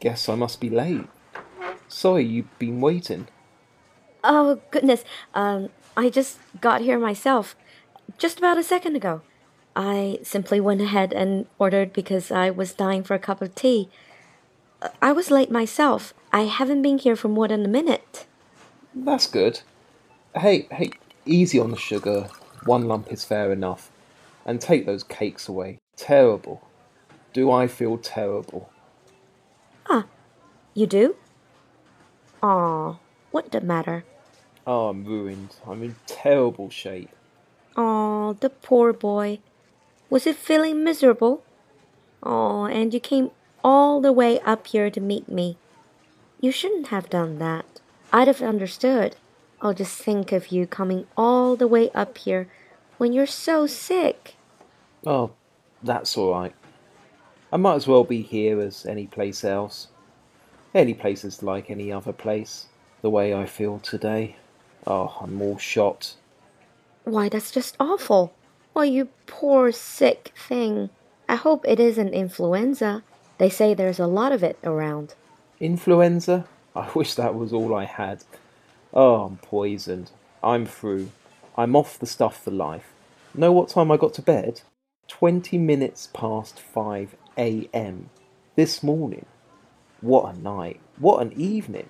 Guess I must be late. Sorry you've been waiting. Oh, goodness. I just got here myself, just about a second ago. I simply went ahead and ordered because I was dying for a cup of tea. I was late myself. I haven't been here for more than a minute. That's good. Hey, easy on the sugar. One lump is fair enough. And take those cakes away. Terrible. Do I feel terrible? Ah, you do? Aw, what the matter? Oh, I'm ruined. I'm in terrible shape. Aw, the poor boy. Was he feeling miserable? Oh, and you came all the way up here to meet me. You shouldn't have done that. I'd have understood. Oh, just think of you coming all the way up here when you're so sick. Oh, that's alright. I might as well be here as any place else. Any place is like any other place. The way I feel today. Oh, I'm all shot. Why, that's just awful. Why, you poor sick thing. I hope it isn't influenza. They say there's a lot of it around. Influenza? I wish that was all I had. Oh, I'm poisoned. I'm through. I'm off the stuff for life. Know what time I got to bed? 20 minutes past 5 a.m. this morning. What a night. What an evening.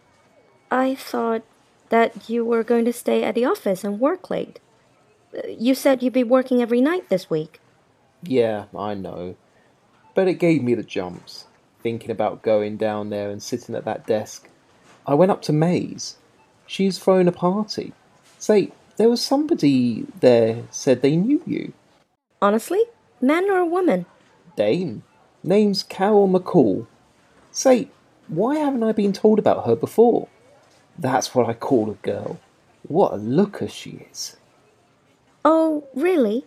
I thought that you were going to stay at the office and work late. You said you'd be working every night this week. Yeah, I know. But it gave me the jumps, thinking about going down there and sitting at that desk. I went up to May's. She's thrown a party. Say, there was somebody there said they knew you. Honestly? Man or woman? Dame. Name's Carol McCall. Say, why haven't I been told about her before? That's what I call a girl. What a looker she is. Oh, really?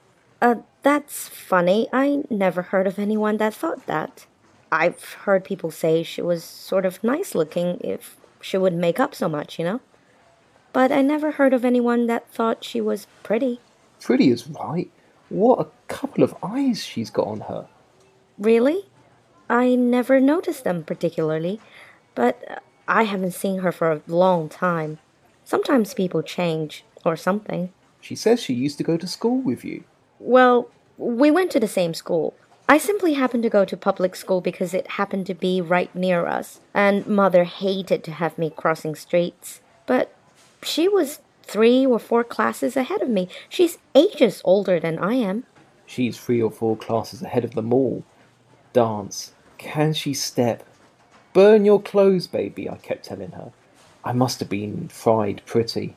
That's funny. I never heard of anyone that thought that. I've heard people say she was sort of nice looking if she wouldn't make up so much, you know? But I never heard of anyone that thought she was pretty. Pretty is right. What a couple of eyes she's got on her. Really? I never noticed them particularly, but I haven't seen her for a long time. Sometimes people change, or something. She says she used to go to school with you. Well, we went to the same school. I simply happened to go to public school because it happened to be right near us, and Mother hated to have me crossing streets. But she was 3 or 4 classes ahead of me. She's ages older than I am. She's 3 or 4 classes ahead of them all. Dance. Can she step? Burn your clothes, baby, I kept telling her. I must have been fried pretty.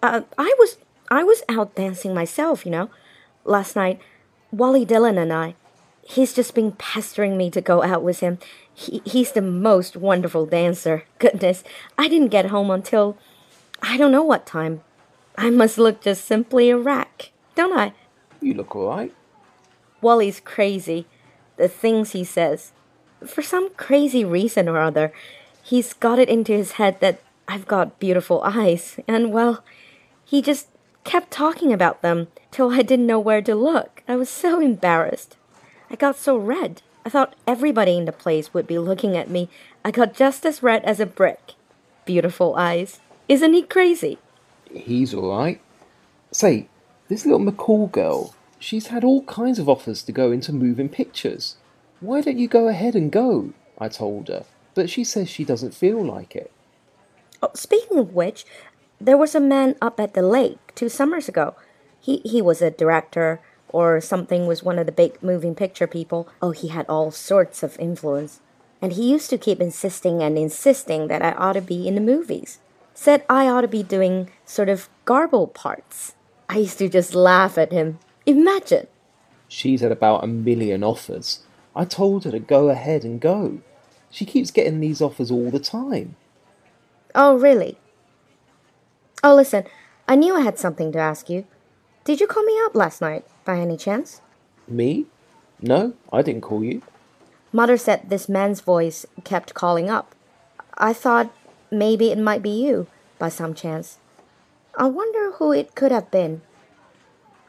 I was out dancing myself, you know. Last night, Wally Dillon and I. He's just been pestering me to go out with him. He's the most wonderful dancer. Goodness, I didn't get home until I don't know what time. I must look just simply a wreck, don't I? You look all right. Wally's crazy. The things he says. For some crazy reason or other, he's got it into his head that I've got beautiful eyes, and well, he just kept talking about them till I didn't know where to look. I was so embarrassed. I got so red. I thought everybody in the place would be looking at me. I got just as red as a brick. Beautiful eyes. Isn't he crazy? He's all right. Say, this little McCall girl, she's had all kinds of offers to go into moving pictures. Why don't you go ahead and go? I told her, but she says she doesn't feel like it. Oh, speaking of which, there was a man up at the lake 2 summers ago. He was a director or something, was one of the big moving picture people. Oh, he had all sorts of influence. And he used to keep insisting and insisting that I ought to be in the movies. Said I ought to be doing sort of garble parts. I used to just laugh at him. Imagine. She's had about 1 million offers. I told her to go ahead and go. She keeps getting these offers all the time. Oh, really? Oh, listen, I knew I had something to ask you. Did you call me up last night, by any chance? Me? No, I didn't call you. Mother said this man's voice kept calling up. I thought maybe it might be you, by some chance. I wonder who it could have been.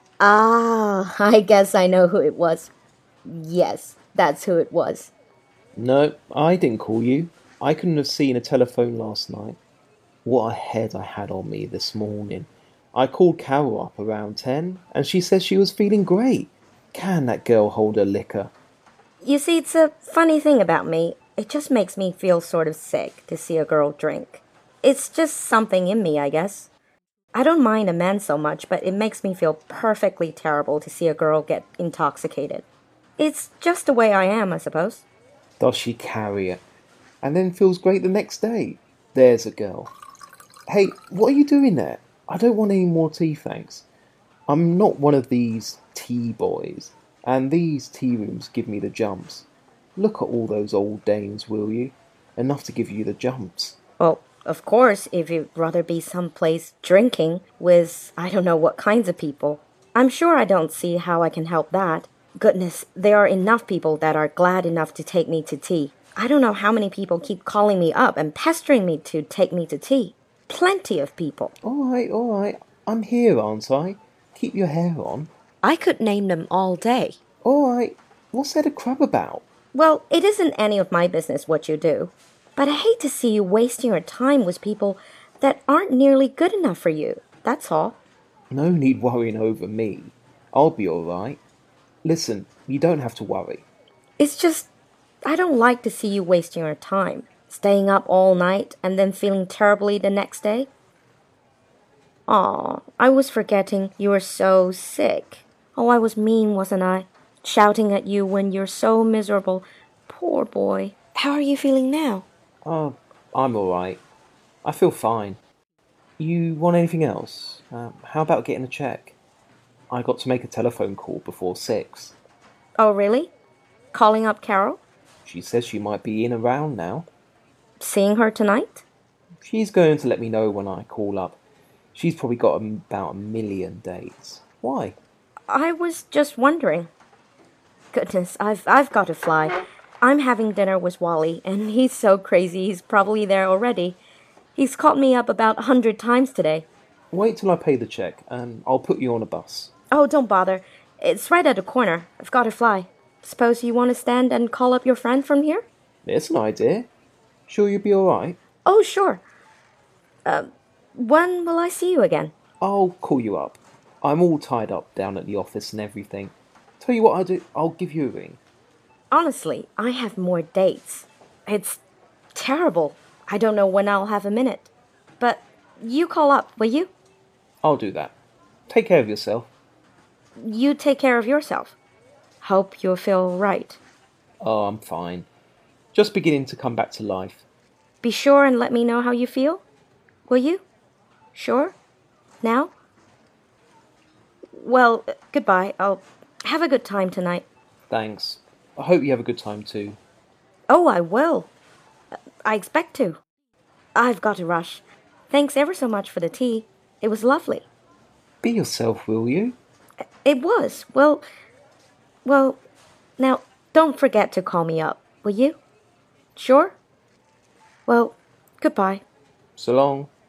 Ah, I guess I know who it was. Yes, that's who it was. No, I didn't call you. I couldn't have seen a telephone last night. What a head I had on me this morning. I called Carol up around 10, and she said she was feeling great. Can that girl hold her liquor? You see, it's a funny thing about me. It just makes me feel sort of sick to see a girl drink. It's just something in me, I guess. I don't mind a man so much, but it makes me feel perfectly terrible to see a girl get intoxicated. It's just the way I am, I suppose. Does she carry it? And then feels great the next day. There's a girl. Hey, what are you doing there? I don't want any more tea, thanks. I'm not one of these tea boys, and these tea rooms give me the jumps. Look at all those old dames, will you? Enough to give you the jumps. Well, of course, if you'd rather be someplace drinking with I don't know what kinds of people. I'm sure I don't see how I can help that. Goodness, there are enough people that are glad enough to take me to tea. I don't know how many people keep calling me up and pestering me to take me to tea. Plenty of people. All right. I'm here, aren't I? Keep your hair on. I could name them all day. All right. What's there to crab about? Well, it isn't any of my business what you do. But I hate to see you wasting your time with people that aren't nearly good enough for you. That's all. No need worrying over me. I'll be all right. Listen, you don't have to worry. It's just, I don't like to see you wasting your time. Staying up all night and then feeling terribly the next day. Aw, I was forgetting you were so sick. Oh, I was mean, wasn't I? Shouting at you when you're so miserable. Poor boy. How are you feeling now? Oh, I'm all right. I feel fine. You want anything else? How about getting a check? I got to make a telephone call before 6. Oh, really? Calling up Carol? She says she might be in around now. Seeing her tonight? She's going to let me know when I call up. She's probably got about a million dates. Why? I was just wondering. Goodness, I've got to fly. I'm having dinner with Wally, and he's so crazy he's probably there already. He's called me up about 100 times today. Wait till I pay the check, and I'll put you on a bus. Oh, don't bother. It's right at the corner. I've got to fly. Suppose you want to stand and call up your friend from here? It's an idea. Sure you'll be all right? Oh, sure. When will I see you again? I'll call you up. I'm all tied up down at the office and everything. Tell you what I'll do, I'll give you a ring. Honestly, I have more dates. It's terrible. I don't know when I'll have a minute. But you call up, will you? I'll do that. Take care of yourself. You take care of yourself. Hope you'll feel right. Oh, I'm fine. Just beginning to come back to life. Be sure and let me know how you feel. Will you? Sure? Now? Well, goodbye. I'll have a good time tonight. Thanks. I hope you have a good time too. Oh, I will. I expect to. I've got to rush. Thanks ever so much for the tea. It was lovely. Be yourself, will you? It was. Well, now, don't forget to call me up, will you? Sure? Well, goodbye. So long.